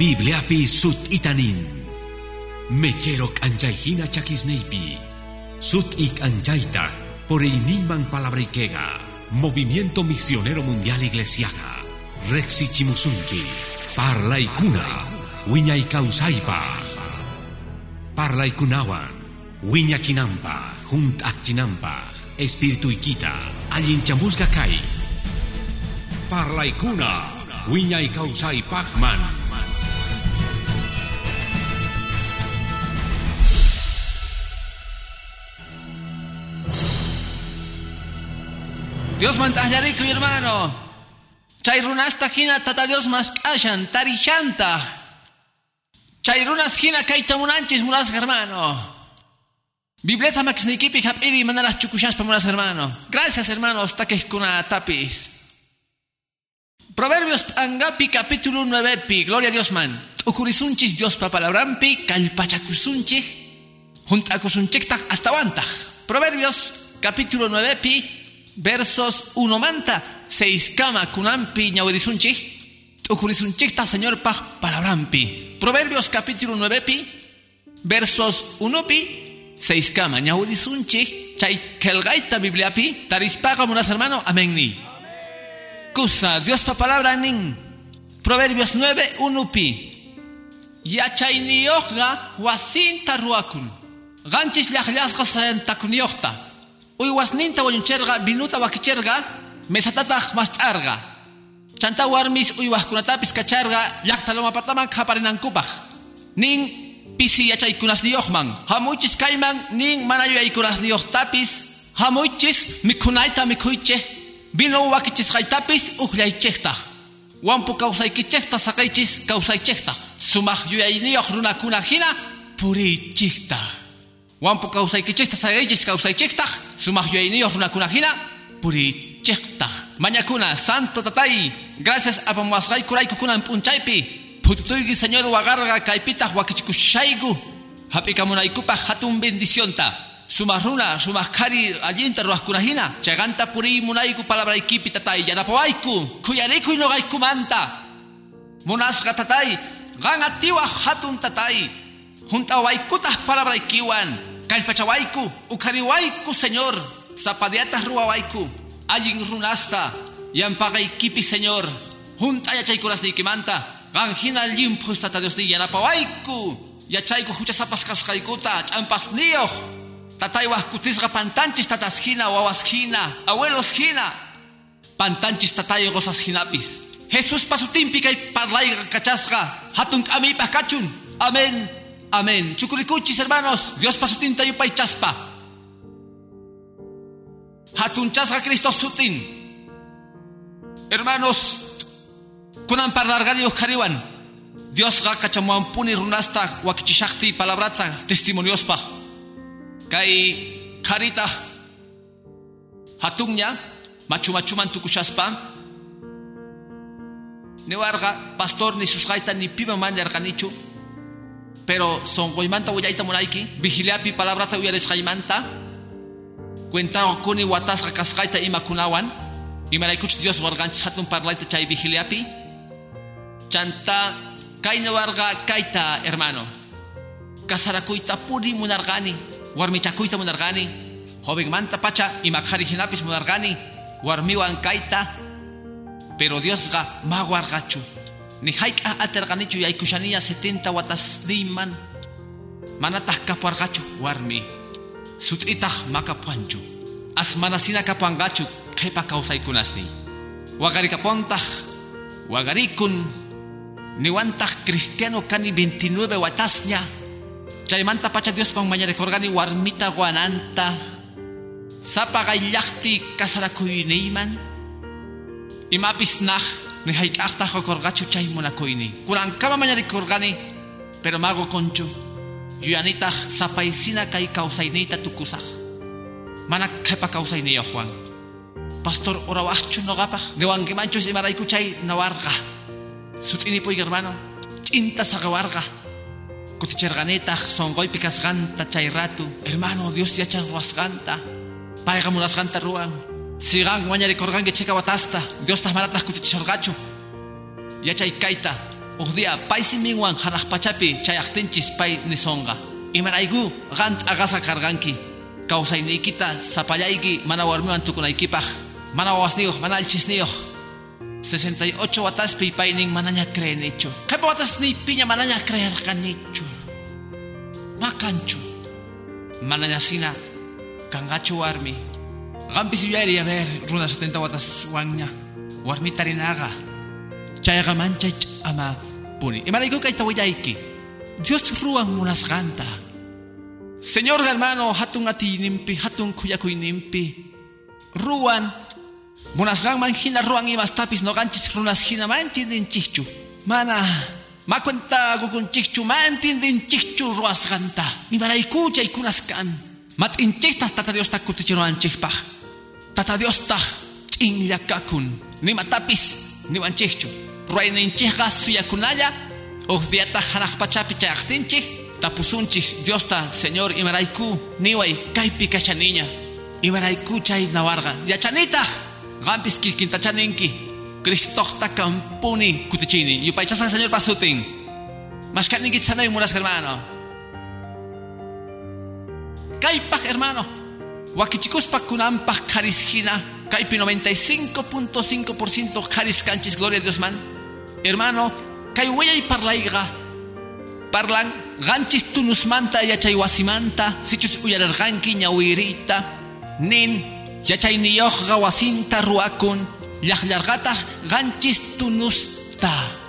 Bibliapi sut itanin. Mecherok anjaihina chakisneipi. Sut ik anjaita por iniman palabrikega. Movimiento Misionero Mundial Iglesiaga. Rexi Chimusunki. Parlaikuna. Wiñay kausaipa. Parlaikunawan. Wiña chinampa. Junt chinampa. Espíritu ikita. Allin chambusga kai. Parlaikuna. Wiñay kausai pachman. Dios mantajarico, hermano. Chayrunasta hina tata Dios mas kashan, tarishanta. Chayrunas hina kaita munanchis munas hermano. Bibleta maxnikipi hapiri manaras chukushas pa munas hermano. Gracias hermanos, taques kuna tapis. Proverbios angapi capítulo 9 pi, gloria a Dios man. Ukurisunchis Dios pa palabrampi, kalpachakusunchis, juntakusunchiktak hasta wanta. Proverbios capítulo 9 pi. Versos 1 manta, 6 kama kunampi ñawedisunchi, ukurisunchikta señor paj palabrampi. Proverbios capítulo 9 pi, versos 1 pi, 6 kama ñawedisunchi, chay kelgaita bibliapi, tarispaga munas hermano, amén ni. Kusa, Dios pa palabra nin. Proverbios 9, 1 pi. Ya chay niyojga wasinta ruakun. Ganchis llajllasga sayantakuniyojta. Uywasninta wañucherga, binuta wakicherga, mesatataq mastarga. Chanta warmis uywaskunatapis kacharga, llaqtaloma pataman qaparinankupaq. Nin pisi yachaykunasniyuqman, hamuychis kayman, nin mana yuyaykunasniyuqtapis, hamuychis mikhunayta mikhuychej, binu wakichisqaytapis uqllaychejtaq. Wampu kawsaykichejta saqaychis kawsaychejtaq. Sumaq yuyayniyuq runakuna hina purichijtaq. Wampu kawsaykichejta saqaychis kawsaychejtaq. Sumaq yuyayniyuq runakunahina purichejtaq. Mañakuna, santo tatay, gracias a pamuasqay kuraykukunan punchaypi. Pututuyki señor wagarga kaypitaq wakichikushayku. Hap'ikamunaykupaq hatun bendicionta. Sumaq runa, sumaq qhari allinta ruwaqkunahina. Chayqanta purimunayku palabraykipi tatay yanapawayku. Kuyarikuy nuqaykumanta. Munasqa tatay, qan atiwaq hatun tatay. Juntawaykutaq palabraykiwan. Kalpachawaiku, ukariwaiku, señor, zapadiatas ruawaiku, allin runasta, yampagaykipi, señor, junta yachaykunas nikimanta, ganjina limpus tata Dios ni yanapawaiku, yachayku huchasapas kaskaikuta, champas niyo, tataywas kutisga pantanchis tatas hina, wawas hina, abuelos hina, pantanchis tatayo gozas hinapis. Jesús pasutimpi kay parlayga kachasga, hatun amipa kachun, amén. Amén. Chukurikuchis, hermanos. Dios pasutin tayo pay chaspa. Hatun chasga Cristo sutin. Hermanos, kunan parlargani uskariwan. Dios ga kachamuampuni runasta wakichishakti palabrata testimonios pa. Kay karita hatunnya machumachuman tukushaspa. Newarga pastor ni susgaita ni piba mandarkanichu. Pero son goimanta uyaita munaiki, vigiliapi palabrata uyares gaimanta, cuenta kuni watas kaskaita imakunawan, y maraikuch Dios warganch hatun parlaita chay vigiliapi, chanta kaina warga kaita hermano, kasarakuita puri munargani, warmichakuita munargani, joven manta pacha imakhari hinapis munargani, warmiwan kaita, pero Dios ga mawargachu. Ni haika aterganichu yaykushania 70 watas diman manatah kapargachu warmi sutitah makapuanchu as manasina kapuangachu kepa kausaykunasni wagari kapontah wagarikun niwantah cristiano kani 29 watasnya chaymanta pacha Dios pang mañarekorgani warmita guananta sapa gaillakti kasarakuyniman imapis nah ni haikakta korgachu chay munakoini. Kurang kama mañari korgani, pero mago conchu. Yuanita sapaisina kai kausainita tukusah. Mana kepa kausaini Juan. Pastor orawachu no gapa. Newang kimanchu si maraiku chay nawarga. Sutini po hermano. Cinta sa gawarga. Kuticherganita songoy pikas ganta chay ratu. Hermano Dios ya chan ruasganta. Paiga munasganta ruang. Sigang mañari korgan que checa watasta. Dios tas maratas kutichorgachu. Yachay kaita. Ugdia paisiminwan hanaq pachapi chayaqtinchis pay nisonga. Imarayku qant agasa karganki. Kawsayniykita sapallayki mana warmiwan tukunaykipaq. Mana wawasniyuq, mana alchisniyuq. 68 wataspi paynin manaña creenichu. Kaypa watasniypiña manaña crearqanichu. Makanchu. Manaña sina kangachu warmi. Qampis yuyayri a ver runa 70 wataswanña. Warmi tarinaqa. Chayqa manchay ama puni. Imarayku kayta willayki. Dios ruwan munasqanta. Señor hermano, hatun atinimpi, hatun kuyakuyninpi. Ruwan munasqanman hina ruwan imastapis noqanchis runas hina ma entendinchikchu. Mana macuenta kukunchikchu ma entendinchikchu ruwasqanta. Imarayku chaykunas kan. Mat'inchikta tata Diostaq kutichiruwanchikpaq. Tata Diostaq ch'inllakakun. Nimatapis niwanchikchu. Ruwayninchikqa suyakunalla uqdiataq hanaq pachapi chayaqtinchik. Tapusunchik Diosta Señor imarayku niway kaypi kashaniña. Imarayku chay nawarqa yachanitaq qampis kikintachaninki. Cristoqta kampuni kutichini. Yupaychasan Señor pasutin. Mashkaninki samay munas hermano. Kaypaq hermano. Wakichikuspa kunanpaq karisjina. Kaypi 95.5% karis kanchis gloria a Dios man. Hermano, kay wayay parlayqa. Parlan ganchis tunusmanta yachay wasimanta. Sichus uyararqanki ñawirita. Nin yachayniyuqqa wasinta ruakun. Llaqllarqataq ganchis tunusta.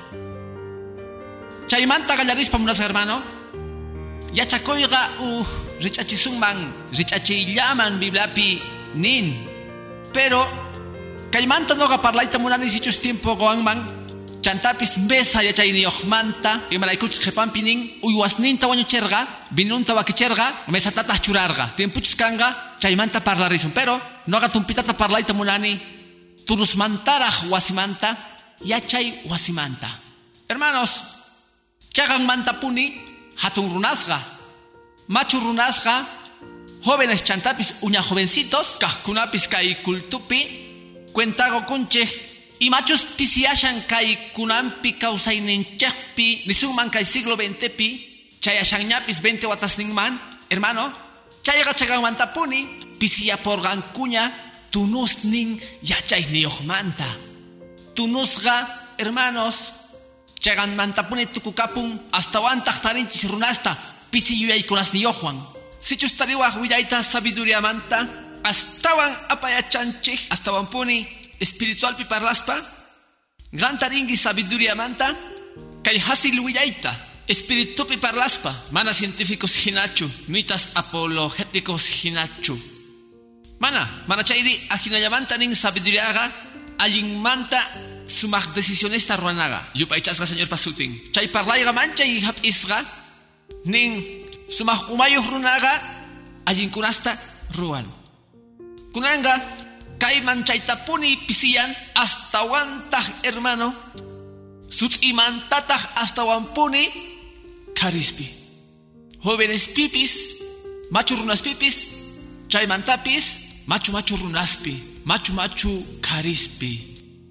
Chaymanta qallarispa munas hermano. Yachakuyqa richachisunman, richachiyllaman Bibliapi nin. Pero kaymanta noqa parlayta munani sichus tiempo goanman. Chantapis mesa yachayniyuqmanta. Imaraykuchus qhipanpi nin uywasninta wañuchirqa, binunta wakichirqa, mesatataq churarqa. Tiempuchus kanqa chaymanta parlarisun. Pero noqa tumpitata parlayta munani turusmantaraq wasimanta, yachay wasimanta. Hermanos, chaqanmanta puni hatun runasqa, machu runasqa, jóvenes chantapis uña jovencitos, kaqkunapis kay kultupi, cuentago kunchej, y machos pisiashan kay kunampi kawsayninchaqpi, nisunman kay siglo XXpi, chayashanñapis 20 watasninman, hermano, chayqa chaqanmanta puni, pisiyaporqankuña, tunusnin yachayniyuqmanta. Tunusqa, hermanos, chaqanmanta puni tukukapun, hasta wantaq tarinchis runasta, pisiyuyaykunasniyuqwan. Sichus tariwaq willayta sabiduriamanta, astawan apayachanchik, astawan puni espiritualpi parlaspa, gantaringi sabiduriamanta, kay hasil willayta, espiritupi parlaspa, mana científicos hinachu, mitas apologéticos hinachu. Mana chayri ajinallamanta nin sabiduriaga, allinmanta sumaq decisionista ruanaga. Yupaychasqa Señor pasutin. Chay parlayga mancha y hapisqa, nin sumaq umayuq runaga, allinkunasta ruan. Kunanga, kayman chaytapuni pisiyan, hasta wantaq hermano, sut'imantataq hasta wampuni, karispi. Jóvenes pipis, machu runas pipis, chaymantapis, machu runaspi, machu karispi.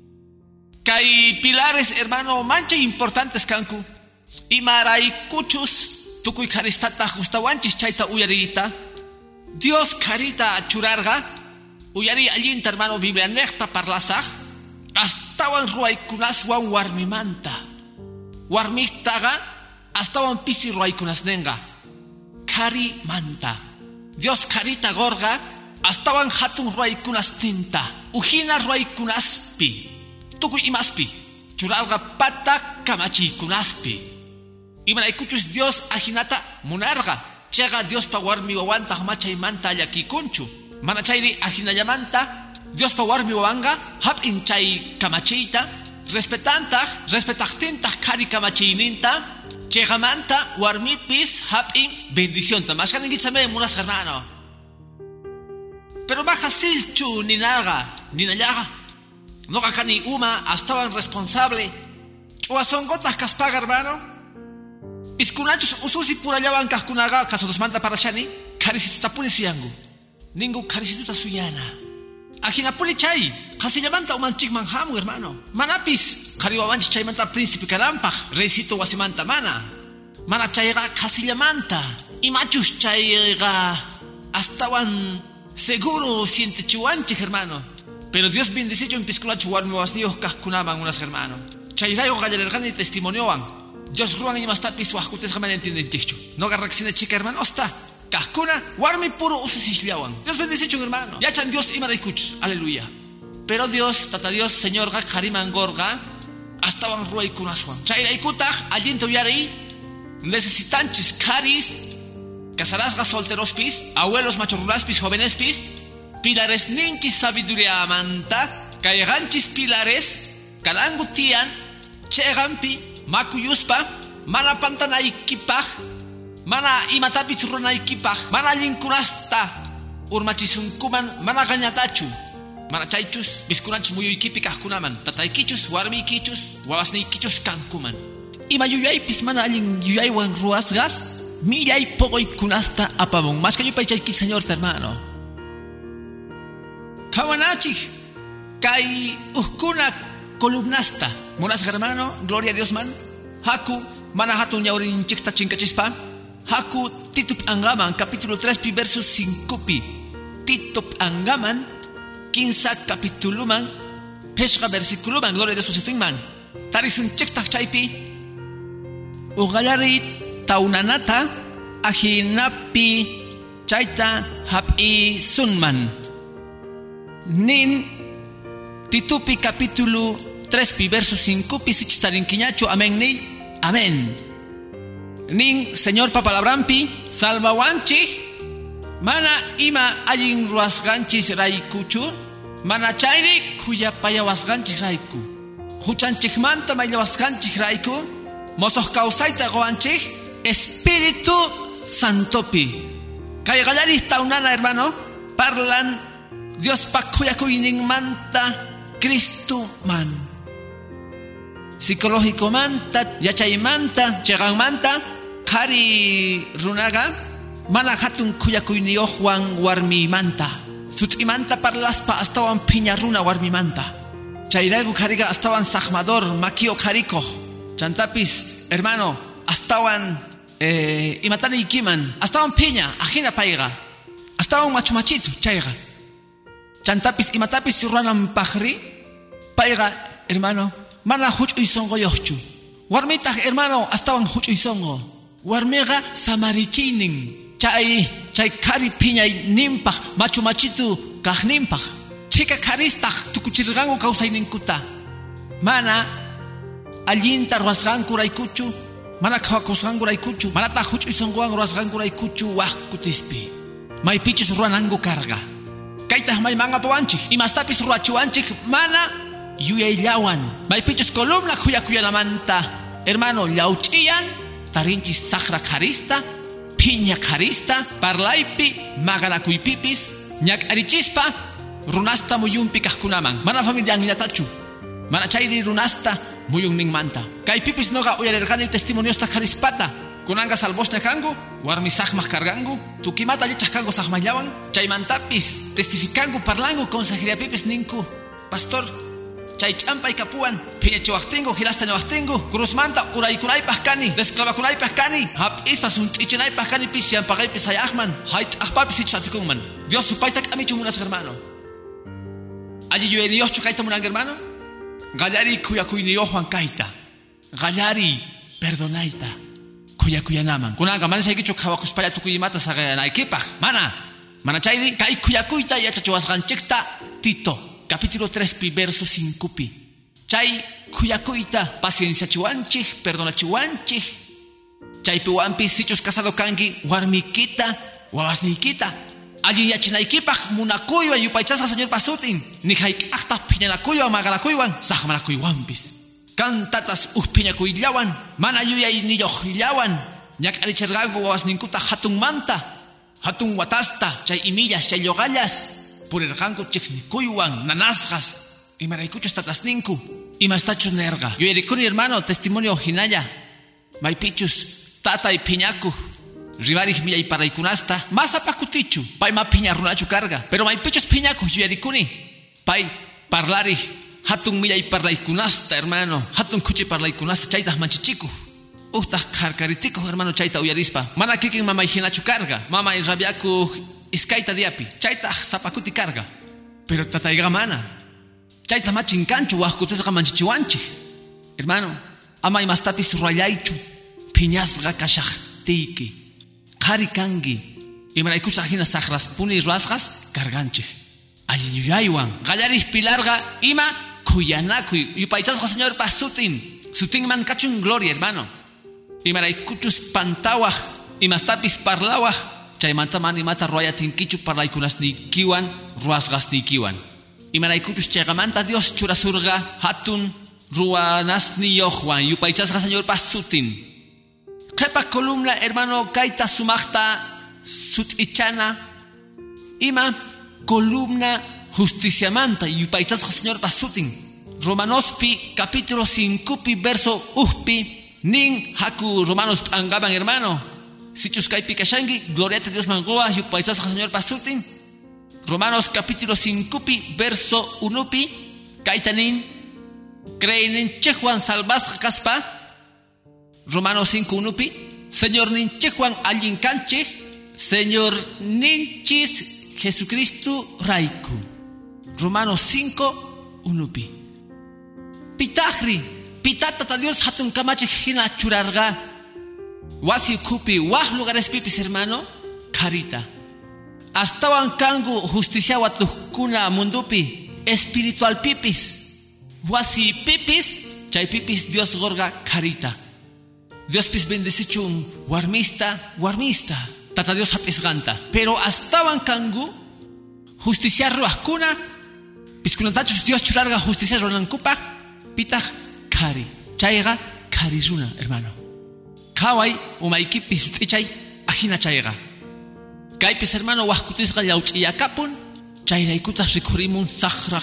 Kay pilares hermano mancha importantes kanku. Imaraykuchus tukuy karistata justawanchis chayta uyarita. Dios karita churarga. Uyari allinta hermano Biblia nekta parlasaq. Astawan ruaykunaswan warmimanta. Warmiktaga astawan pisi ruaykunasnenga. Kari manta. Dios karita gorga. Astawan hatun ruaykunastinta. Ujina ruaykunaspi. Tukuy imaspi. Churarga pata kamachiykunaspi. Imaraykuchus Dios ajinata munarga. Chega Dios pa warmi wawanta machaymanta allakikunchu. Mana chayri ajinallamanta Dios pa warmi wawanga hap inchay kamachiyta respetaqtintaq kari kamachiyninta chegamanta warmipis hap in bendicionta. Mashkaninkichame munas hermano. Pero baja silchu ninallaga. Noqa kani uma astawan responsable. Uasongotas kaspaga hermano. Iskunachus ususi purallawan kaqkunaqa kasudusmanta parashani karisituta puni suyangu. Ningu karisituta suyana. Ajinapuni chay kasillamanta umanchikman hamu hermano. Manapis qariwawanchik chaymanta príncipe kanampaq reysito wasimanta mana chayqa qasillamanta imachus chayqa astawan seguro sientichiwanchik hermano pero Dios bendicicho en pisculachu warmi wasniyuq kaqkunaman unas hermano chayrayuq qallarirqani testimoniowan Dios ruan imastapis waqkutisqa mana entendinchikchu noqa riqsinachika hermano hasta kaqkuna warmi puro ususisllawan Dios bendicicho hermano yachan Dios imaraykuchus aleluya pero Dios tata Dios señorqa qarimangorqa astawan ruaykunaswan chayraykutaq allinta uyariy necesitanchis caris casarasqa solterospis abuelos machorruraspis jovenespis pilares ninchis sabiduría manta kayqanchis pilares kalangu tiyan chayqanpi makuyuspa mana pantanaykipaq mana imatapis runaykipaq mana allinkunasta urmachisunkuman mana qañatachu mana chaychus biskunanchis muyuykipi kaqkunaman tataykichus warmiykichus wawasniykichus kankuman ima yuyaypis mana allin yuyaywan ruwasqas millay poqoykunasta apamun maskallupay chayki señor hermano kawanachik kay uhkuna columnasta munasqa hermano gloria a Dios man haku mana hatun ñawrinchikta chinkachispa haku Titup Angaman capítulo 3 versos 5 pi Titup Angaman 15 capítulo man pesca versículo man gloria a Dios man tarisunchikta chaypi Ugallari taunanata ahinapi chaita hapi sunman nin Titupi capítulo 3 verso 5 pisichu tarinquiñacho amén ni amén nin señor papalabrampi salvawanchi mana ima allin ruasganchis raikuchu mana chayri kuyapayawasganchis raiku huchanchikmanta maylawasganchis raiku Mosos causaita goanchik Espíritu Santopi Kaygalari taunana hermano Parlan Dios pakuyakuinin manta Cristo man Psicológico manta Yachay manta Chegan manta Kari runaga Mana hatun kuyakuinio Juan warmi manta Suti manta parlaspa astawan piña runa warmi manta Chairagu kariga astawan sahmador Makio kariko Chantapis, hermano, astawan imatani ikiman, astawan piña, ajina paiga, astawan machumachito, chaiga. Chantapis, imatapis ruanam pajri, paiga, hermano, mana huchu isongo yochu. Warmita, hermano, astawan huchu isongo. Warmega samarichinin, chay kari piña nimpaj, machumachito, kajnimpaj. Chica karistaj, tukuchirgango kausainikuta. Mana, allinta ruasganku raykuchu mana kawakusganku raykuchu mana tahuchu isonguan ruasganku raykuchu waqkutispi maypichus ruanangu karga kaytaq maymanga pawanchik imastapis ruachiwanchik mana yuyayllawan maypichus columna kuyakuyanamanta hermano llawch'iyan tarinchis saqra karista piña karista parlaypi maganakuypipis ñak'arichispa runasta muyunpi kaqkunaman mana familianllatachu mana chayri runasta muyung ning manta kay pipis noga uyarergani testimonios ta karispata kunanga salvosne kangu warmi saqmaq kargangu tukimata lichaq kangu saqmallawan chaymantapis testificangu parlangu consejería pipis ninku pastor chay ch'ampay kapuan phiñachiwaqtingu hilasta niwaqtingu cruzmanta uraykunaypaq kani desclavakunaypaq kani hap'ispa sunt'ichinaypaq kani pis llampaqaypis hayaqman hayt'aqpapis ichusatikunman Dios supayta k'amichu munas hermano alli yuyayniyoqchu kayta munanga hermano Gallari kuyakuyniyuq Juan kaita Gallari perdonaita kuyakuyanaman kunanga mana shaykichu qhawakuspalla tukuymata saqanaykipaq mana chayri kay kuyakuyta yachachiwasqanchikta Tito capítulo 3 verso 5 chay kuyakuyta pacienciachiwanchik perdonachiwanchik chaypiwanpis sichus casado kanki warmikita wawasniykita allin yachinaykipaq munakuywan yupaychasqa señor pasutin ni hayk'aqtaq phiñanakuywan maganakuywan saqmanakuywanpis kantatas piñakuyllawan mana yuyayniyuqllawan ñak'aricharqanku wawasninkuta hatun watasta chay imillas chay lloqallas purirqanku chiqnikuywan nanasqas imaraykuchus tatasninku imastachus nerqa yuyarikuni hermano testimonio hinalla maypichus tatay phiñakuq Ribarij millay paraykunasta masa pakutichu pay ma piña runachu carga pero may pichos piñaku yuyarikuni pay parlari hatun millay parlaykunasta hermano hatun kuchi parlaykunasta chaytaq manchichiku uhtaq karkaritiku hermano chayta uyarispa mana kikin mamay hinachu karga mamay rabiaku iskayta diapi chaytaq sapakuti karga pero tatayqa mana chayta machin kanchu waqkutasqa manchichiwanchik hermano ama imastapis rurallaychu phiñasqa kashaqtiyki qhari kanki imaraykusaq hina saqraspuni ruwasqas karganchik allinyuyaywan qallaris pilarqa ima kuyanakuy yupaychasqa señorpa sutinman kachun gloria hermano imaraykuchus pantawaq imastapis parlawaq chaymanta mana imata ruwayatinkichu parlaykunasniykiwan ruwasqasniykiwan imaraykuchus chayqamanta Dios churasurqa hatun ruwanasniyuqwan yupaychasqa señorpa sutin qepa columna hermano kayta sumaqta sut'ichana ima columna justiciamanta yupaychasqa señorpa sutin Romanospi capítulo 5 pi verso 1 nin haku Romanos angaban hermano sichus kaypi kashanki gloriata Dios mangoa yupaychasqa señorpa sutin Romanos capítulo 5 pi verso 1 pi kayta nin creyninchikwan salvasqa kaspa Romanos 5:1 pi Señor ninchikwan allin kanchik Señor ninchis Jesucristo raiku Romanos 5:1 pi Pitahri pitata Dios hatun kamachik hina churarga wasi kupi wah lugares pipis hermano karita astawan kangu justicia watukuna mundupi espiritual pipis wasi pipis chay pipis Dios gorga karita Dios pis bendicichun warmista tata Dios hapisganta pero astawan kangu justicia ruakuna piskunatachus Dios churarga justicia ronankupak pitah kari chayga karizuna hermano kawai umaykipis fichay ajina chayga kaypis hermano wahkutisqa llawch'iyakapun chayraykutas rikurimun saqra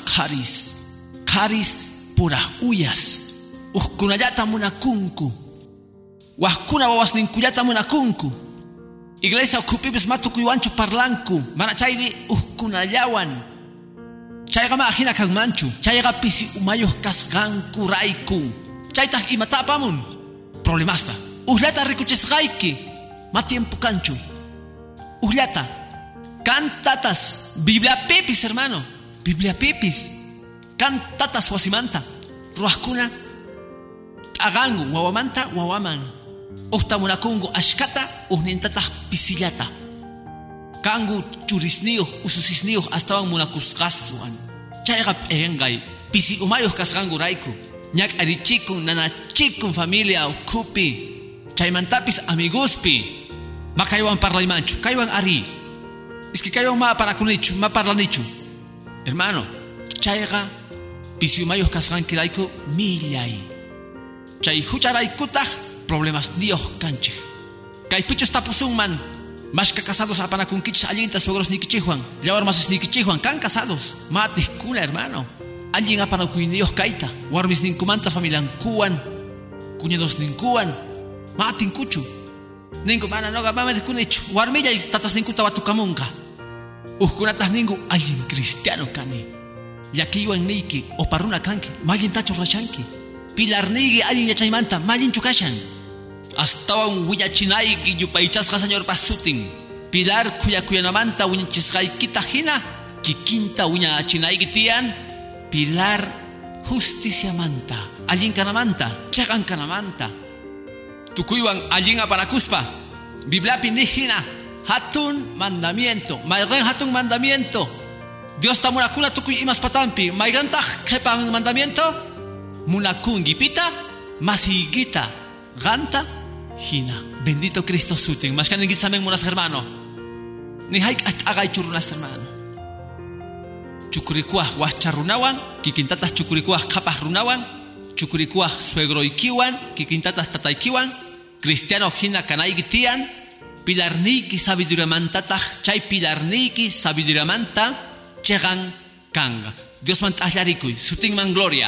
karis puraq uyas uqkunallata munakunku wahkuna wawasninkullata munakunku iglesia ukupipis matukuywanchu parlanku mana chayri uqkunallawan chayqa ma ajina kanmanchu chayqa pisi umayuq kasqanku rayku chaytaq imata apamun problemasta ullata rikuchisqayki ma tiempo kanchu ullata cantatas Biblia pipis hermano Biblia pipis cantatas wasimanta ruwaqkuna agangu wawamanta wawaman uqtamunakungu ashkata uqnintataq pisillata kangu churisniyuq ususisniyuq astawan munakusqasuan chayqa p'engay pisi umayuq kasqanku rayku ñak'arichikun nanachikun familia ukhupi chaymantapis amiguspi ma kaywan parlaymanchu kaywan ari es que kaywan ma parakunichu ma parlanichu hermano chayqa pisi umayuq kasqanki rayku millay chay hucharaykutaq problemas niyuq kanchik kaypichus tapusunman mashka casados apanakunkichis allinta suegros nikichihwan llawar masisnikichihwan kan casados matihkuna hermano allin apanakuyniyoq kayta warmis ninkumanta familiankuwan cuñados ninkuwan matinkuchu ninku mana noqa mamadikunichu warmillay tatas ninkuta watukamunqa uqkunataq ninku allin cristiano kani llakiywan niyki oparruna kanki mallintachu rashanki pilarniyki allin yachaymanta mallinchu kashan astawan willachinayki yupaychasqa señor pasutin pilar kuyanamanta wiñachisqaykita hina kikinta wiñachinayki tiyan pilar justiciamanta allin kanamanta chaqan kanamanta tukuywan allin apanakuspa Bibliapi ni hina hatun mandamiento mayqan hatun mandamiento Dios ta munakuna tukuy imas patampi mayqantaq qhipan mandamiento munakunkipita masigita ganta hina bendito Cristo sutin mashkaninki samen munas hermano ni hayk at'aqay churunas hermano chukurikuah wahcharunawan kikintatas chukurikuah qapah runawan chukurikuah suegroykiwan kikintatas tataykiwan cristiano hina kanayki tiyan pilarniyki sabiduriamantataq chay pilarniyki sabiduriamanta chegan kanga Dios man t'aqllarikuy sutinman gloria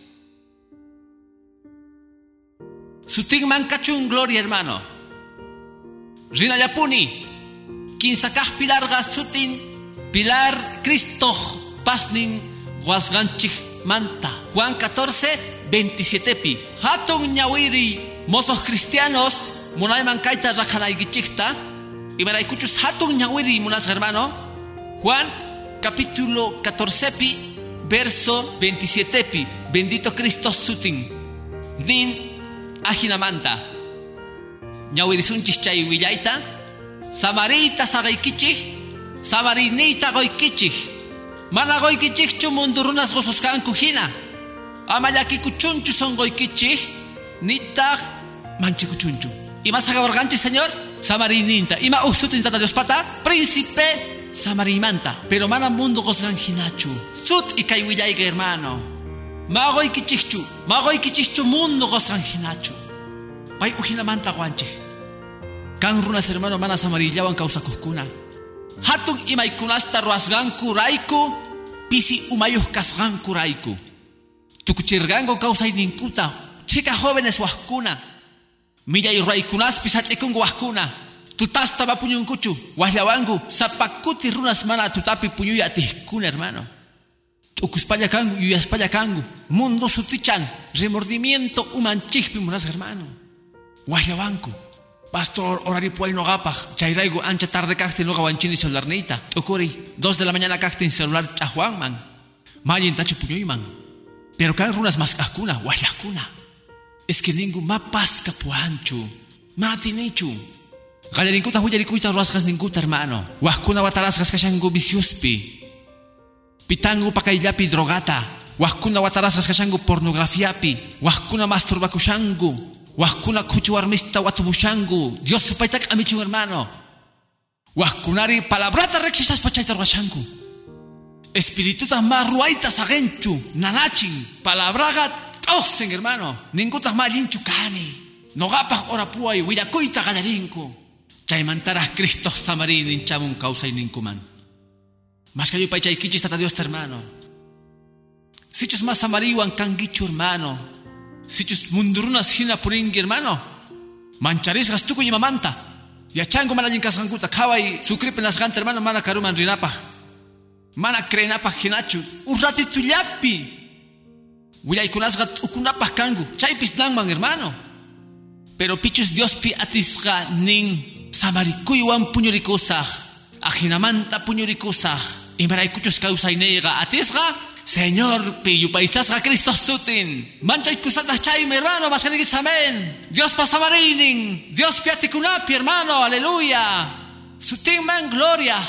sutinman kachun gloria hermano rinallapuni kinsakaq pilarqa sutin pilar Cristo pasnin wasqanchik manta. Juan 14, 27 pi. Hatun ñawiri mozos cristianos munayman kaita rakanaygichikta. Y maraykuchus hatun ñawiri munas hermano. Juan capítulo 14 pi, verso 27 pi. Bendito Cristo sutin. Din ajinamanta. Ñawirisunchis chay willaita. Samarita sagaykichik. Samarinita goykichik. Mana goykichikchu mundurunas gosuskanku hina. Amayakikuchunchu son goykichik. Nitag manchikuchunchu. Ima sagaborganchi señor. Samarininta. Ima usutin tata Dios pata. Príncipe Samarimanta. Pero mana mundo gosgan hinachu. Sut y kaiwillaiga hermano. Magoy kichichu mundo gosgan hinachu. Pay ujinamanta guanche. Kan runas hermano mana samarillawan causakuskuna. Hatun imaykunasta ruasganku raiku. Pisi umayuh kasganku raiku. Tukuchirgango causayninkuta. Chica jóvenes waskuna. Millay raikunas pisach'ikungu waskuna. Tutasta vapuñunkuchu. Wahlawangu. Zapakuti runas mana tutapi puñuya atihkuna hermano. Ukuspalla kangu, yuyaspalla kangu. Mundo sutichan. Remordimiento umanchikpi munas hermano. Wahlawanku. Pastor horario puay no gapaj. Chairaigo ancha tarde cacti no gawanchini celularnita. Okuri 2 de la mañana cacti en celular chahuanman. Mayin tachu puñuyman. Pero kan runas mas akuna, wahlakuna. Es que ningún mapasca puanchu. Matinichu. Gallarinkuta huyarikuita ruasgas ninguta hermano. Wahkuna watarasgas kashangu viciuspi. Pitangu pakaillapi drogata. Wahkuna watarasgas kashangu pornografiapi. Wahkuna masturbakushangu. Wahkuna kuchuarmista watumushangu. Dios supaitak amichu hermano. Wahkunari palabrata rekshishas pachaita ruashangu. Espiritutas marruaitas agenchu. Nanachin. Palabraga osen hermano. Ningutas malinchu kani. Nogapas orapuay huirakuita gallarinku. Chaymantaras Cristo Samarin hinchamun causa y ninkuman. Mas que yo paichaikichis tata Dios hermano. Sichus más samariwan kangichu hermano. Sichus mundurunas hina puringi hermano. Mancharisgas tuku y mamanta. Yachango manajin kasgankuta. Kawai sukripen las gante hermano mana karuman rinapaj. Mana krenapaj hinachu. Un ratito llapi. Willaykunasgat ukunapaj kangu. Chaypis nangman hermano. Pero pichus Dios pi atisga nin. Samarikuywan puñurikusaj. Ajinamanta puñurikusaj. Y maraykuchus causaineiga atisga. Señor pi yupaichasga Cristo sutin. Manchaykusatas chayme hermano. Maskanigis amén. Dios pasamarinin. Dios pi atikunapi hermano. Aleluya. Sutin man gloria.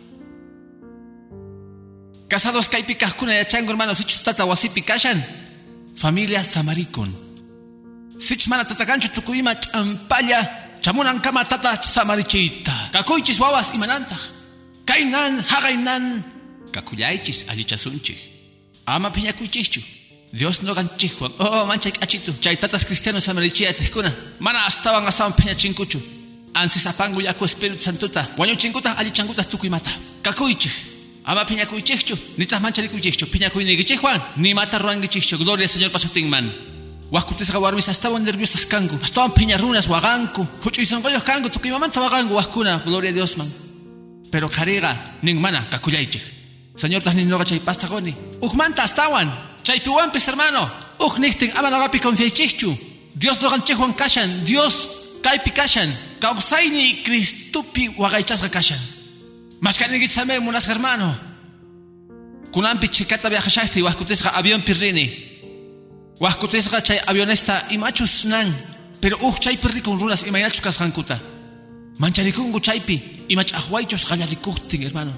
Casados kaipikajkuna yachango hermano. Sichus tata wasipi kashan. Familia samarikun. Sich mana tatakanchu tukuyima champalla. Chamunan kama tata samarichita. Kakuychis wawas imananta. Kainan, hagainan. Kakuyaychis allichasunchi. Ama piñakuychischu. Dios no ganchijuan. Oh, mancha kachitu. Chay tatas cristianos samarichiyas eskuna. Mana astaban piñachinkuchu. Ansisapangu yaku Espíritu Santuta. Wañuchinkuta allichankutas tukuyimata. Kakuychis. Ama piñakuychischu. Nitas mancharikuychischu. Piñakuynigichijuan. Ni mata ruangichichu. Gloria al Señor pasutingman. Wahkutisqa warmis estaban nerviosas kangu. Estaban piñarunas waganku. Huchuysanqoyos kangu. Tukimamanta wagangu wahkuna. Gloria a Dios man. Pero kariga ningmana kakuyayche. Señor tas ninoga chay pastagoni. Ujmanta estaban. Chay piwampis hermano. Nihtin ama nagapi confiaychichu. Dios no ganchejuan kashan. Dios kaypi kashan. Kausayni Cristupi wagaychasqa kashan. Maskanigitsame munas hermano. Kunampi chikata viajashaysti wahkutisqa avión pirrini. Wahkutisqa chay avionesta imachus nan. Pero chay perri con runas imaynachus kasqankuta. Mancharikungu chaypi imach ahwaychus qallarikuqtin hermano.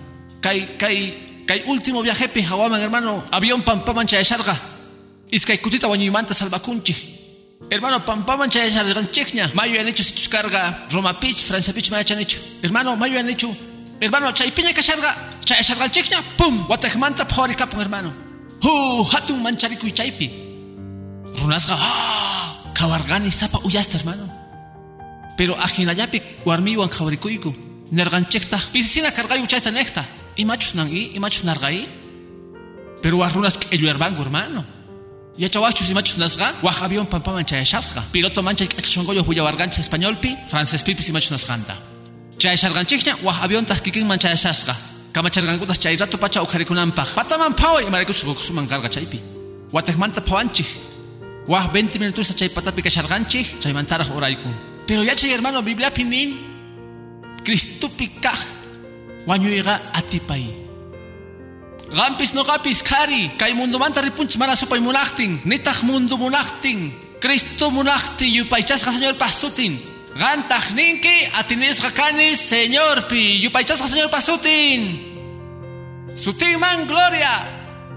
Kay último viajepi hawaman hermano. Avión pampaman chayasharqa. Iskay kutita wañuymanta salvakunchik. Hermano pampaman chayasharqanchikña. Mayo han hecho sichus carga Roma Pich, Francia Pich mayachan hecho. Hermano mayo han hecho. Hermano chaypiña kasharqa. Chayasharqanchikña. Pum. Watajmanta phorikapun hermano. Hatun mancharikuy chaypi. Runasga, kawargani sapa uyasta hermano. Pero ajinayapi warmiwan kawarikuyku. Nerganchekta, pisicina cargayu chaysta nekta. Imachus nangi, imachus nargai. Pero warrunas elluerbangu hermano. Yachawachus imachus nasga, wajabion pampaman chayashasga. Piloto mancha kachongoyo huyawarganchis españolpi, francés pipis imachus nasganta. Chayasharganchikña, wajabion tahkikin manchayashasga. Kamachargangutas chayrato pacha ukarikunampaj. Pataman pawa y marikush gokusuman carga chaypi. watakmanta pawanchik. Wah 20 minutos chay patapi kasharganchik, chay mantaraj oraykun. Pero ya chay hermano Biblia pinin Cristupi kaj wañuyga atipay. Gampis no gapis kari kay mundo manta ripunch mana supay munachtin, nitaj mundo munachtin. Cristo munachti yupaychasqa Señor pasutin. Gantaj ninki atinisqa kani Señor pi yupaychasqa Señor pasutin. Sutin man gloria.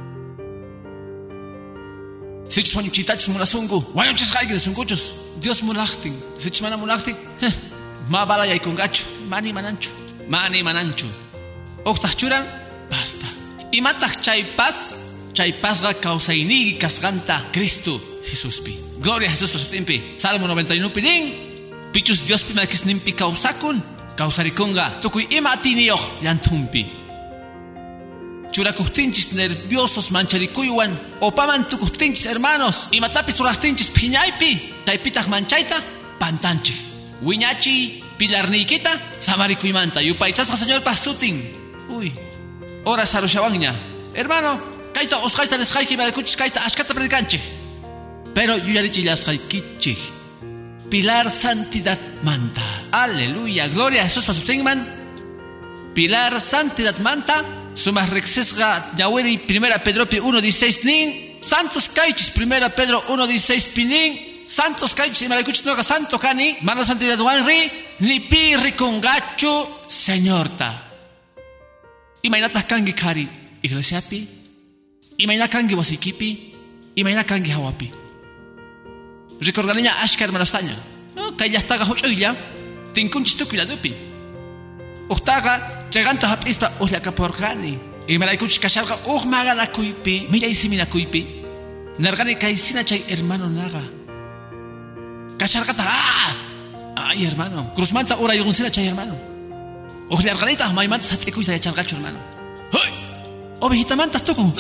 Sichus wañuchitachus munasungu, wañuchisqayki sunguchus. Dios munachtin, sichus mana munachtin, ma bala yaykungachu, mani mananchu. Oqtaq churan, basta. Imataq chaypasqa kawsayniki kasqanta Cristo Jesuspi. Gloria a Jesús pasutinpi. Salmo 91 nin, pichus Diospi makisninpi kawsakun, kawsarikunga tukuy ima atiniyoq llantunpi. Churakustinchis nerviosos mancharikuywan, opaman tukustinchis hermanos, imatapis surastinchis phiñaypi, chaypitaq manchayta pantanchik. Wiñachi pilarniykita samarikuymanta yupaychasqa Señor pasutin. Uy, ora sarushawanña. Hermano, kayta usqayta nisqayki barikuchis kayta ashkata predikanchik. Pero yuyarichillasqaykichik. Pilar santidad manta. Aleluya, gloria a Jesús pasutinman. Pilar santidad manta. Sumas rexesga ñaweri 1 Pedro 1:16 nin. Santos kaychis 1 Pedro 1:16 pinin. Santos kaychis imaraykuchis noqa santo kani. Mana santidad wanri ni pi rikungachu Señorta. Imaynataq kanki kari iglesiapi. Imayna kanki wasikipi. Imayna kanki hawapi. Recorganiña ashka hermanostaña. No, kayllastaqa huch'uylla tinkunchis tukulladupi. Uqtaqa chaganta hap'ispa ullakaporqani. Imaraykuchis kasharqa maganakuypi, millay siminakuypi. Narqani kaysina chay hermano naqa. Kasharqata ay hermano, cruzmanta urayunsina chay hermano. Uqllarqanita maymanta sat'ikuysa yacharqachu hermano. Hoy, ovejitamanta tukun.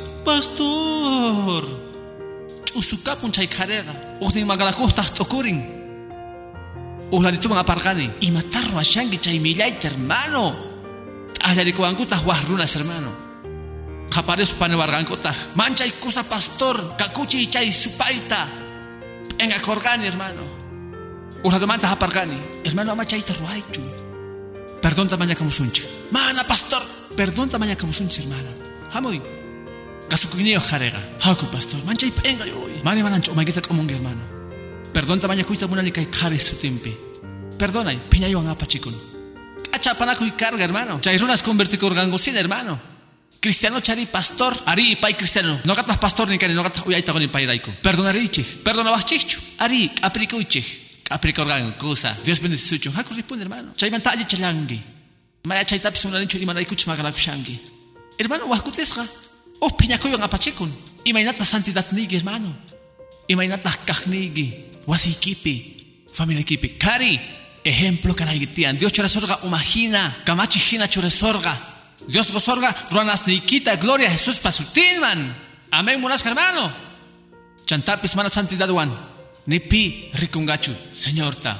Pastor. Usukapun chay karega. Uqnin magalakuqtaq t'ukurin. Uqlanituman aparqani. Imatarro ashanki chay millayta hermano. T'aqllarikuwankutaq waq runas hermano. Qaparispa panewarqankutaq. Manchay kusa pastor kakuchiy chay supayta. Engakorqani hermano. Uqlatumanta aparqani. Hermano ama chayta ruaychu. Perdonta mañakamusunchik. Mana pastor. Perdonta mañakamusunchik hermano. Hamuy. Kasukuniyo jarega. Haku pastor. Manchay penga yoy. Mani manancho omaygita komungi hermano. Perdonta mañakuyta munani kay kare sutimpi. Perdonay. Piñaywan apachikun. Achapanakuy carga hermano. Chay runas convertikurqankusina hermano. Cristiano chari pastor. Ari pay cristiano. No gatas pastor ni kani no gatas uyayta con payrayku. Perdonarichik. Perdonawachikchu. Ari aprikuychik. Aprikurqankusa. Dios bendecichuchu. Haku ripunde hermano. Chaymanta alli chalangi. Maya chaytapis munanichu imanaykuchis magalakushanki. Hermano wahkutisqa. Piñakuywan apachikun. Imaynata santidad nigi hermano. Imaynata kajnigi. Wasikipi. Familiakipi. Kari. Ejemplo kanaygitian. Dios choresorga umagina. Kamachi hina choresorga. Dios gosorga ruanas nikita. Gloria a Jesús pasutinman. Amén munas hermano. Chantapis mana santidad wan. Nipi rikungachu. Señorta.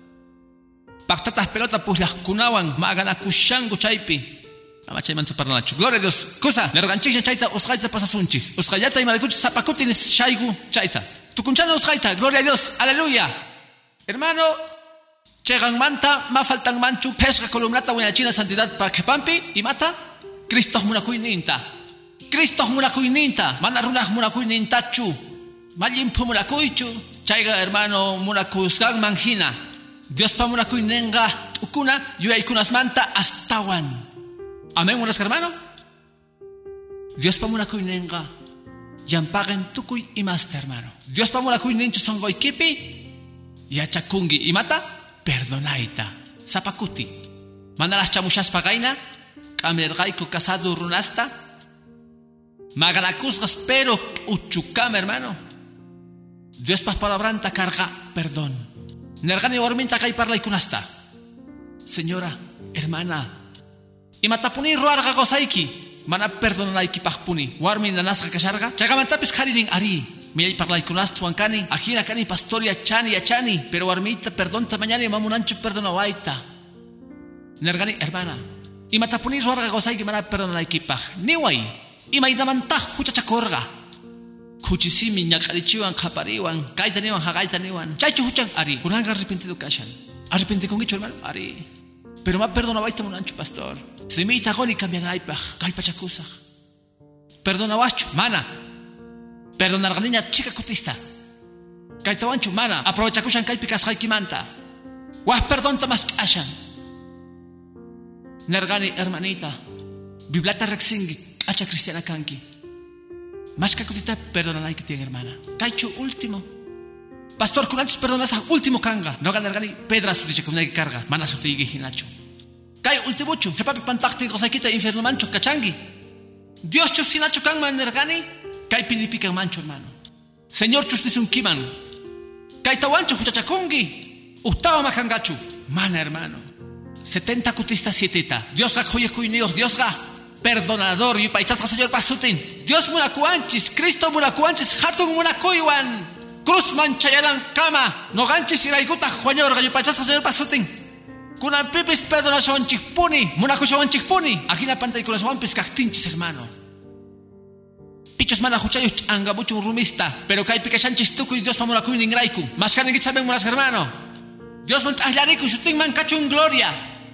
Paktatas pelota pues las kunawan. Maganakushangu chaypi. Amachay mantu parlanachu. Gloria a Dios. Cosa, nerganchik chayta usqayta pasasunchik. Usqayata imarikuch zapakutin shaygu chayta. Tukunchana usqayta. Gloria a Dios. Aleluya. Hermano, chegan manta, ma faltan manchu, pesca columnata wiñachina santidad pa kepampi y mata. Cristo munakuy ninta. Cristo munakuy ninta. Mana runah munakuy nintachu. Malimpu munakuychu. Chayga hermano munakuzgan manjina. Dios pa munakuy nenga ukuna yuaykunas manta astawan. Amén, buenas hermano. Dios pa munakuy nenga yampaguen tukuy y más hermano. Dios pa munakuy ninchu songoy kipi yachakungi y mata perdonaita zapakuti. Manalas chamushas pagaina kamergaiku casado runasta maganakusgas pero uchukam hermano. Dios pa palabranta carga perdón. Nergani warminta kay parla ikunasta. Señora, hermana. Y matapuni ruarga gosaiki. Mana perdonanaiki pajpuni. Warmi nanasga kasharga. Chagamantapis harinin ari. Miyay parlay kunastu ankani. Ajina kani pastoria chani achani. Pero warmita perdonta mañana y mamunancho perdonawaita. Nergani hermana. Y matapuni ruarga gosaiki mana perdonanaiki paj. Niway. Y maidamantaj huchachakorga. kuchisimi ñaqarichiwan qapariwan kaytaniwan haqaytaniwan chaychu huchan ari kunanqa arrepentido kashan arrepentikunkichu hermano ari pero ma perdonawayta munanchu pastor simita qoni cambianaypaq kallpachakusaq perdonawachu mana perdonarqaniña chika kutista kaytawanchu mana aprovechakushan kaypi kasqaykimanta wah perdonta mas ashan nergani hermanita biblata rexingi acha cristiana kanki mas que kutita perdonanay que tiene hermana kaychu último pastor kunanchis perdonas último kanga no ganargani pedras dice que una carga mana sutigi hinacho kay último chu papi pantaqti qosaykita infierno mancho kachangi Dios chu sinacho kan manergani kay pinipikan mancho hermano señor chustis un kiman kay tawancho huchachakungi ustawa makangachu mana hermano 70 kutista 7 Dios ga joye kuinios Dios ga perdonador y paichasqa señor pasutin Dios munakuanchis Cristo munakuanchis hatun munakuywan cruz manchayaran kama no ganchis iraikuta joñor ga paichasqa señor pasutin kunan pipis perdonación chikpuni munakushawan chikpuni ajina pantay kunasawan piskaktinchis hermano pichos mana huchayus angabuchun rumista pero kay pikashanchis tukuy Dios pamunakuy ningraiku maskani gichaben munas hermano Dios man tahlariku shutin man kachun gloria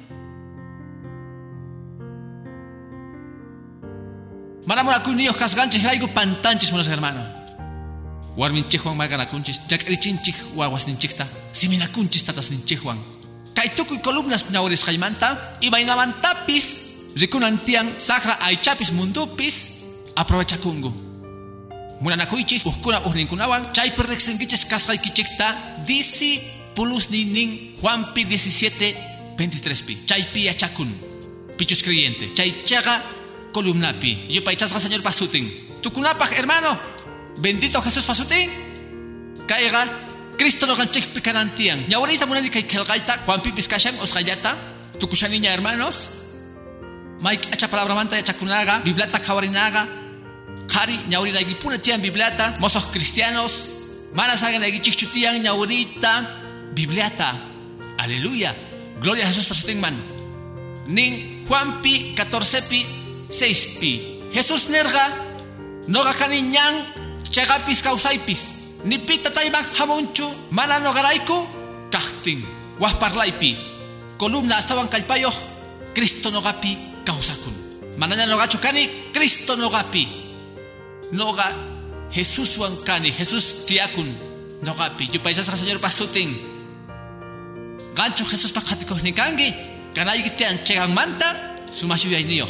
Manamura kuniyos kasganchis raigo pantanchis monos hermano. Warminchejuan maganakunchis, jakrichinchik wawasninchikta, siminakunchis tatasninchejuan. Kaituku columnas ñauris jaimanta, y bainamantapis, rikunantian sacra aichapis mundupis, aprovechakungu. Munanakuichis, uskuna uhninkunawan, chay perrexengiches kasgaikichikta, disi pulus ninin Juanpi 17:23pi. Chay pia chakun, pichus creyente, chay chaga. Columnapi, yo paichasqa señor pasutin. Tukunapaj hermano, bendito Jesús pasutin. Caiga, Cristo no ganchek picanantian. Y ahorita munani kay kelgaita, Juan Pipis kashan osgayata, tukushaniña hermanos. Mike acha palabra manta ya chakunaga, biblata kawarinaga. Kari, ñaurina gipuna tian biblata, mozos cristianos. Mana sagan gichichutian ñaurita, biblata. Aleluya. Gloria a Jesús pasutin man. Nin Juanpi 14pi 6pi. Jesús nerga noga kaniñan chegapis kausaipis. Ni pita taiman hamonchu mana nogaraiku kahtin. Wahparlaipi. Columna estaban kalpayo Cristo nogapi kausakun. Mananya nogachu kani Cristo nogapi. Noga Jesús wankani Jesús tiakun nogapi. Yo paisas señor pasutin. Gancho Jesús pakhatikos nikangi. Kanay gitian chegan manta sumashu yainio.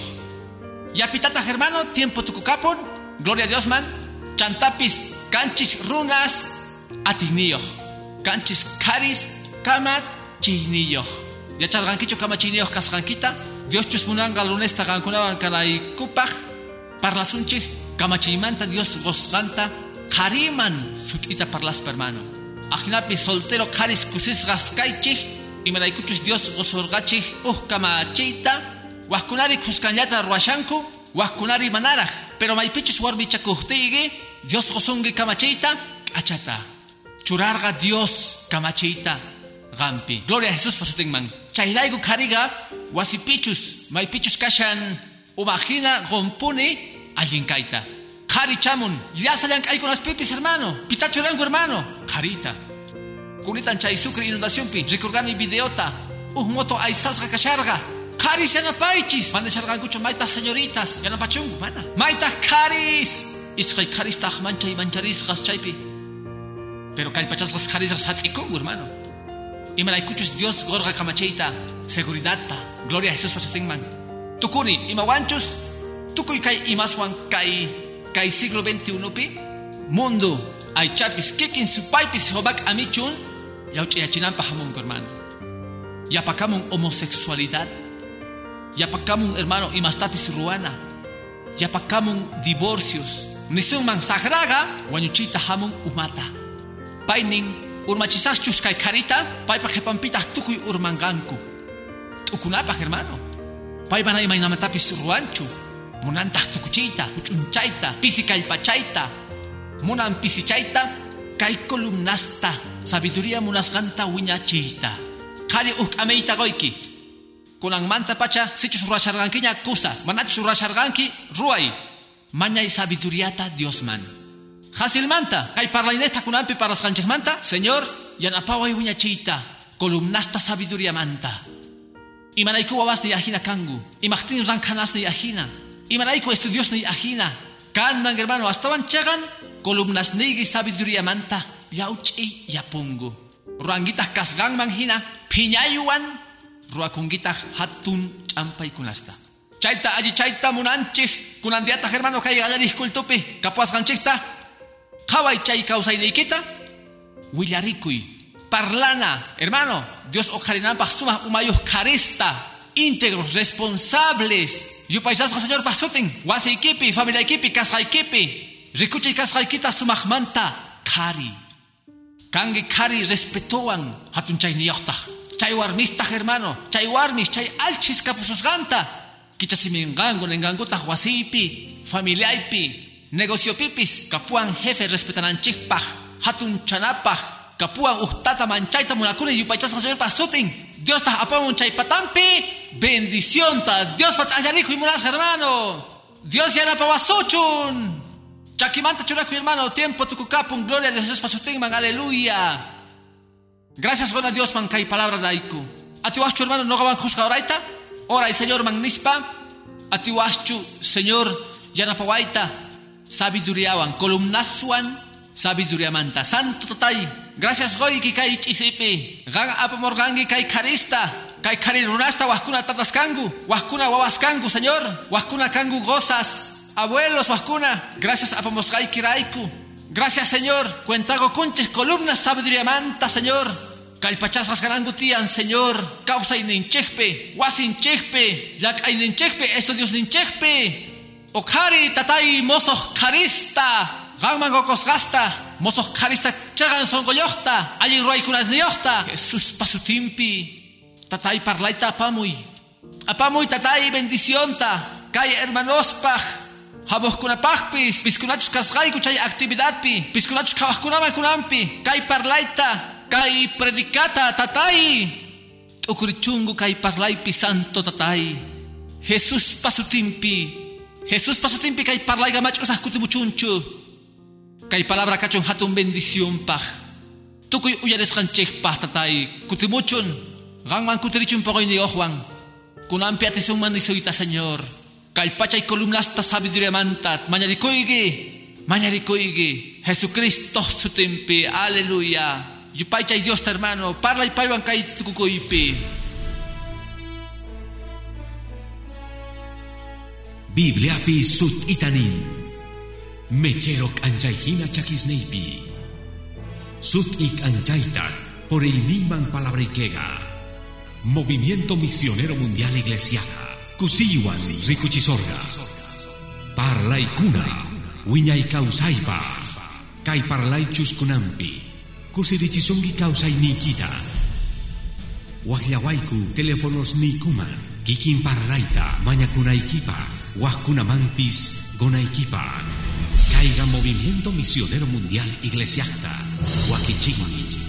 Ya pitata hermano, tiempo tucupon, gloria a Dios man, chantapis, canchis runas, atinio, canchis caris, kamat, chinio. Ya charganquicho kama chinio kasganquita, Dios chusmunanga lunesta gankunaban kanay kupaj, parlasunchi, kamachimanta Dios gosganta, kariman sutita parlas hermano. Ajinapi soltero caris kusis gaskaichi, y meraikuchus Dios gosorgachi, kamachita. Waskunari kuskanyata ruashanku, waskunari manaraj, pero maipichus warbichakuhtigi, Dios gozongi kamachita, achata. Churarga Dios kamachita, gampi. Gloria a Jesús pasutingman. Chairaigu kariga, wasipichus, maipichus kashan, umagina gompuni, allinkaita. Kari chamun, ya salían ahí con las pipis hermano, pitacho rango hermano, carita. Kunitan chaisukri inundación pi, recurgani videota, moto aisasga kasharga. Caris yana paichis. Manda chargangucho maitas señoritas. Yana pachungu mana. Maitas caris. Isqay caris taj mancha y mancharis gas chaipi. Pero calpachas gas caris gas hatikungu hermano. Y malaikuchus Dios gorga kamacheita. Seguridad ta. Gloria a Jesús pasutingman. Tukuni imawanchus. Tukuy kay imaswan kay siglo 21 pi. Mundo ay chapis kikin su paipis hobak amichun. Yauchiyachinampa hamungu hermano. Yapakamun homosexualidad. Yapakamun hermano y mastapis ruana. Yapakamun divorcios. Nisun man sagraga wanyuchita hamun umata. Painin urmachisachus kay karita paipa jepampita tukuy urmanganku. Tukunapa hermano. Paipa na imainamatapis ruanchu. Munantah tukuchita, uchunchaita, pisikalpachaita. Munan pisichaita kay columnasta. Sabiduría munasganta wiñachita. Kari ameita goiki. Kunang manta pacha, sichus ruashargankinya kusa, manachus ruasharganki ruay. Mañay sabiduriata Dios man. Hasilmanta, kay parlainesta kunampi parasqanchikmanta, Señor, yanapaway wiñachiyta, columnasta sabiduría manta. Imanayku wawas ni ajina kangu, imaqtin rankanas ni ajina, imanayku estudios ni ajina, kanman hermano, hasta wanchagan, columnas nigi sabiduría manta, yauchi yapungu. Ruangitas kasgan manhina, piñayuan, ruakungitas hatun champay kunasta. Chaita allí chaita munanchik, kunandiata hermano kay gallaris kultupi, kapuas ganchikta, kaway chay kausaynikita, willarikuy, parlana, hermano, Dios ojarinampa suma umayos carista, íntegros, responsables. Yupaysasqa Señor pasutin, wasaykipi, familiaykipi, kasqaykipi, rikuchay kasqaykita sumaqmanta, kari. Kangi kari respetuan, hatun chay niyaqta, chay warmista hermano, chay warmis, chay alchis kapususganta. Kichasimingango nenganguta wasiypi, familiaypi, negociopipis, kapuan jefe respetananchikpaj, hatun chanapaj, kapuan uhtata manchayta munakuni yupaychasqa Señor pasutin. Dios ta apamun chay patampi, bendición ta, Dios pat allariku y munas hermano. Dios yana pawasuchun. Chakimanta churaku hermano, tiempo tukukapun, gloria de Jesús pasutin man, aleluya. Gracias buena Dios man kay palabra daiku. Atiwachu hermano no gaban juzga oraita. Ora y Señor magnispa, atiwachu Señor yanapawaita, sabiduriawan, columnasuan, sabiduría manta, santo tatay. Gracias goy ki kay chisipi, gan apamorgangi kay karista, kay karirunasta wahkuna tataskangu, wahkuna wawaskangu Señor, wahkuna kangu gozas, abuelos wahkuna. Gracias apamosgay kiraiku. Gracias Señor, cuentago kunches columnas sabiduría manta Señor. Kalpachasas ganangutian, Señor, causa ininchekpe, wasinchekpe, yak ininchekpe, estudios ninchekpe. Okari tatay mosos karista, gangman gokosgasta, mosos karista chagan songoyokta, allí ruaykunas niyokta. Jesús pasutimpi, tatay parlaita apamuy. Apamuy tatay bendición ta, kay hermanospaj, habos kunapajpis, piskunachus kasgayku chay actividadpi, piskunachus kawajkunaman kunampi, kay parlaita. Kay predicata tatay, ukurichungu kay parlaypi santo tatay. Jesús pasutimpi kay parlay gamachusah kutimuchunchu. Kay palabra kachon hatun bendición paj. Tukuy uyaresqanchikpaj tatay, kutimuchun. Gangman kutirichun pagoy ni ojuan. Kunampi atisungman nisuyta Señor. Kay pachay columnasta sabiduría mantat, mañarikuygi, Jesucristo sutimpi, aleluya. Yupay chay Dios hermano, parla y paywan kay tukukuypi. Bibliapi sut itanin, mecherok anchayhina chakisneipi, sut ik anchayta por el niman palabrikega, Movimiento Misionero Mundial Iglesiaja, kusiwan rikuchisorga, parla y kuna, wiñay kausaypa, kay parlay chuskunampi. Kusirichisungi kausay nikita. Wahyawaiku teléfonos nikuman. Kikin parlaita mañakunaykipa. Wahkunamanpis gonaykipa. Caiga Movimiento Misionero Mundial Iglesiasta. Wakichigmi.